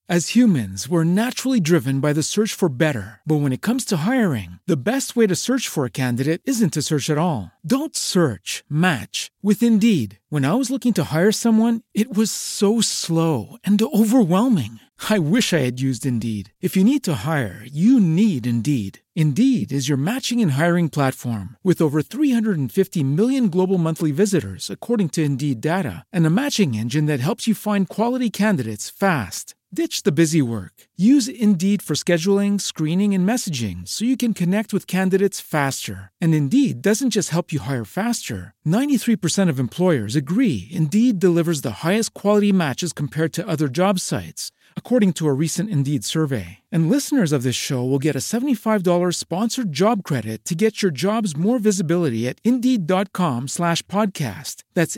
As humans, we're naturally driven by the search for better. But when it comes to hiring, the best way to search for a candidate isn't to search at all. Don't search, match with Indeed. When I was looking to hire someone, it was so slow and overwhelming. I wish I had used Indeed. If you need to hire, you need Indeed. Indeed is your matching and hiring platform with over 350 million global monthly visitors, according to Indeed data, and a matching engine that helps you find quality candidates fast. Ditch the busy work. Use Indeed for scheduling, screening, and messaging so you can connect with candidates faster. And Indeed doesn't just help you hire faster. 93% of employers agree Indeed delivers the highest quality matches compared to other job sites, according to a recent Indeed survey. And listeners of this show will get a $75 sponsored job credit to get your jobs more visibility at Indeed.com/podcast. That's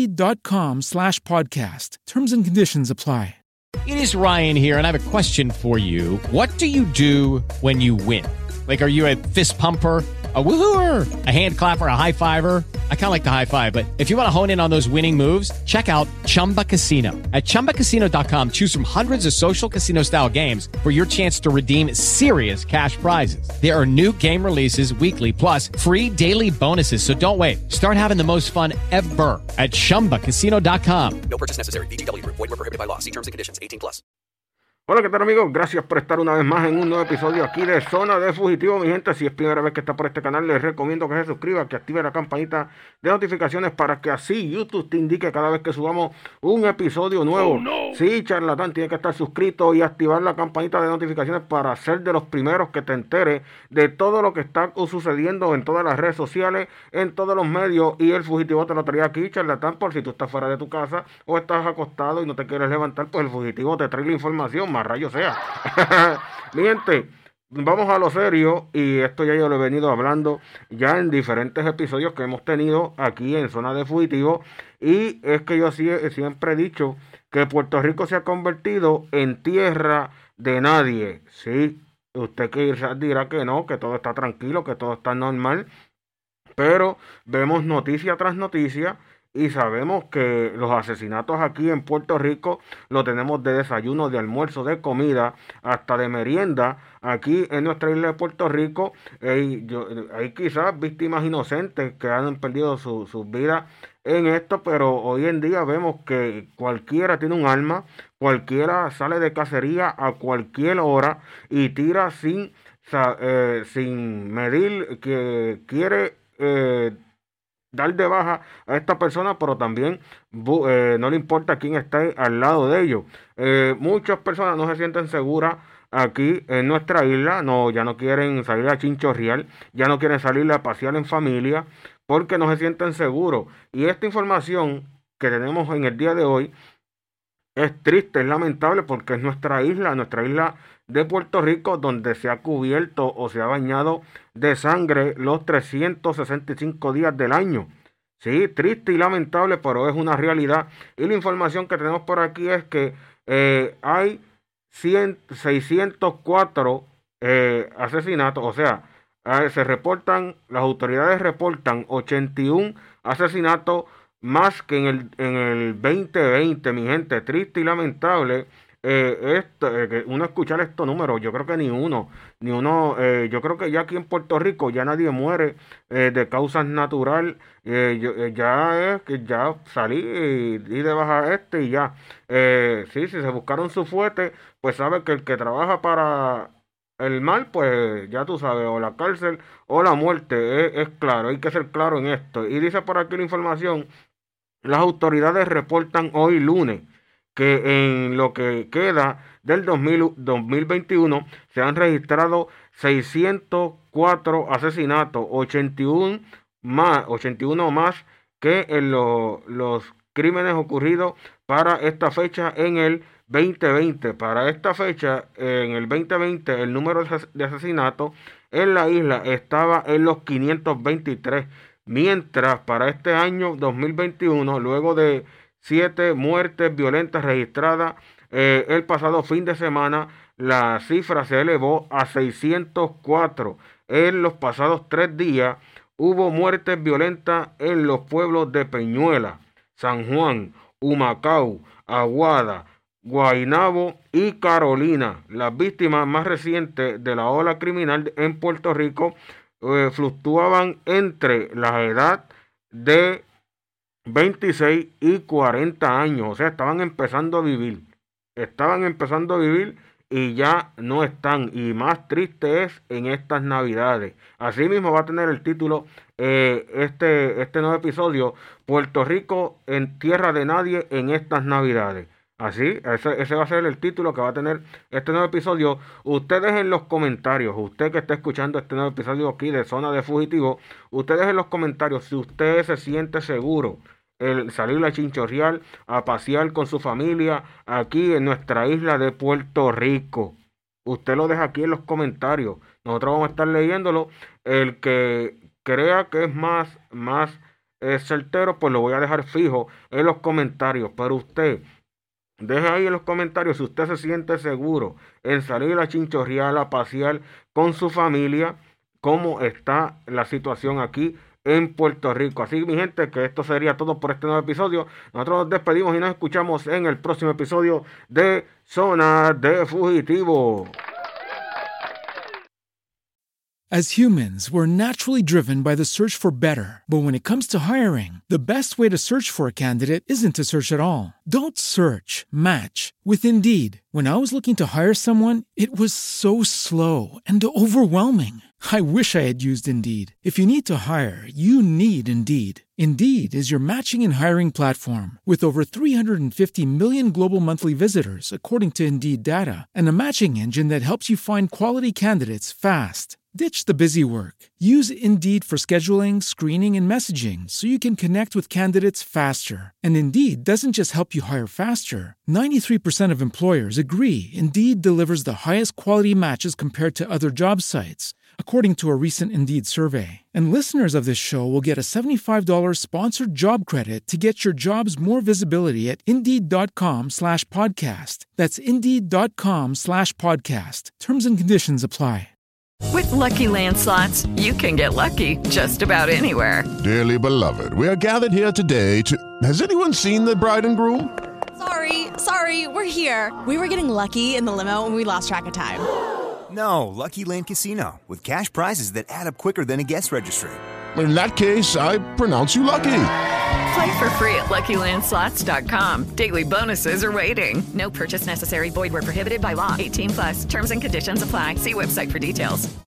Indeed.com/podcast. Terms and conditions apply. It is Ryan here, and I have a question for you. What do you do when you win? Like, are you a fist pumper, a woo-hooer, a hand clapper, a high fiver? I kind of like the high five, but if you want to hone in on those winning moves, check out Chumba Casino. At ChumbaCasino.com, choose from hundreds of social casino-style games for your chance to redeem serious cash prizes. There are new game releases weekly, plus free daily bonuses, so don't wait. Start having the most fun ever at ChumbaCasino.com. No purchase necessary. VGW Group. Void where prohibited by law. See terms and conditions. 18+. Hola, ¿qué tal, amigos? Gracias por estar una vez más en un nuevo episodio aquí de Zona de Fugitivo. Mi gente, si es primera vez que está por este canal, les recomiendo que se suscriba, que active la campanita de notificaciones para que así YouTube te indique cada vez que subamos un episodio nuevo. Oh, no. Sí, charlatán, tiene que estar suscrito y activar la campanita de notificaciones para ser de los primeros que te entere de todo lo que está sucediendo en todas las redes sociales, en todos los medios. Y el Fugitivo te lo traía aquí, charlatán, por si tú estás fuera de tu casa o estás acostado y no te quieres levantar, pues el Fugitivo te trae la información, más rayo sea. Mi gente, vamos a lo serio, y esto ya yo lo he venido hablando ya en diferentes episodios que hemos tenido aquí en Zona de Fugitivo, y es que yo siempre he dicho que Puerto Rico se ha convertido en tierra de nadie. Sí, usted quizás dirá que no, que todo está tranquilo, que todo está normal, pero vemos noticia tras noticia y sabemos que los asesinatos aquí en Puerto Rico lo tenemos de desayuno, de almuerzo, de comida, hasta de merienda. Aquí en nuestra isla de Puerto Rico hay quizás víctimas inocentes que han perdido sus vidas en esto, pero hoy en día vemos que cualquiera tiene un arma, cualquiera sale de cacería a cualquier hora y tira sin medir que quiere dar de baja a esta persona, pero también no le importa quién está al lado de ellos. Muchas personas no se sienten seguras aquí en nuestra isla, ya no quieren salir a chinchorrear, ya no quieren salir a pasear en familia, porque no se sienten seguros. Y esta información que tenemos en el día de hoy es triste, es lamentable, porque es nuestra isla de Puerto Rico, donde se ha cubierto o se ha bañado de sangre los 365 días del año. Sí, triste y lamentable, pero es una realidad. Y la información que tenemos por aquí es que hay 604 asesinatos, o sea, las autoridades reportan 81 asesinatos más que en el 2020, mi gente. Triste y lamentable uno escuchar estos números. Yo creo que ni uno, yo creo que ya aquí en Puerto Rico ya nadie muere de causas naturales. Ya es que ya salí y de baja y ya. Sí, si se buscaron su fuerte, pues sabe que el que trabaja para el mal, pues ya tú sabes, o la cárcel o la muerte. Es claro, hay que ser claro en esto. Y dice por aquí la información: las autoridades reportan hoy lunes que en lo que queda del 2021 se han registrado 604 asesinatos, 81 más que en los crímenes ocurridos para esta fecha en el 2020. Para esta fecha, en el 2020, el número de asesinatos en la isla estaba en los 523. Mientras para este año 2021, luego de 7 muertes violentas registradas el pasado fin de semana, la cifra se elevó a 604. En los pasados 3 días hubo muertes violentas en los pueblos de Peñuela, San Juan, Humacao, Aguada, Guaynabo y Carolina. Las víctimas más recientes de la ola criminal en Puerto Rico fluctuaban entre la edad de 26 y 40 años. O sea, estaban empezando a vivir y ya no están. Y más triste es en estas navidades. Así mismo va a tener el título este nuevo episodio: Puerto Rico en tierra de nadie en estas navidades. Así, ese va a ser el título que va a tener este nuevo episodio. Ustedes en los comentarios, usted que está escuchando este nuevo episodio aquí de Zona de Fugitivo, ustedes en los comentarios, si usted se siente seguro el salir a chinchorrear, a pasear con su familia aquí en nuestra isla de Puerto Rico. Usted lo deja aquí en los comentarios. Nosotros vamos a estar leyéndolo. El que crea que es más certero, pues lo voy a dejar fijo en los comentarios. Pero usted deje ahí en los comentarios si usted se siente seguro en salir a chinchorrear, a pasear con su familia, cómo está la situación aquí en Puerto Rico. Así, mi gente, que esto sería todo por este nuevo episodio. Nosotros nos despedimos y nos escuchamos en el próximo episodio de Zona de Fugitivo. As humans, we're naturally driven by the search for better. But when it comes to hiring, the best way to search for a candidate isn't to search at all. Don't search, match with Indeed. When I was looking to hire someone, it was so slow and overwhelming. I wish I had used Indeed. If you need to hire, you need Indeed. Indeed is your matching and hiring platform with over 350 million global monthly visitors, according to Indeed data, and a matching engine that helps you find quality candidates fast. Ditch the busy work. Use Indeed for scheduling, screening, and messaging so you can connect with candidates faster. And Indeed doesn't just help you hire faster. 93% of employers agree Indeed delivers the highest quality matches compared to other job sites, according to a recent Indeed survey. And listeners of this show will get a $75 sponsored job credit to get your jobs more visibility at Indeed.com/podcast. That's Indeed.com/podcast. Terms and conditions apply. With Lucky Land Slots, you can get lucky just about anywhere. Dearly beloved, we are gathered here today to... Has anyone seen the bride and groom? Sorry, we're here. We were getting lucky in the limo and we lost track of time. No, Lucky Land Casino, with cash prizes that add up quicker than a guest registry. In that case, I pronounce you lucky. Play for free at LuckyLandSlots.com. Daily bonuses are waiting. No purchase necessary. Void where prohibited by law. 18+. Terms and conditions apply. See website for details.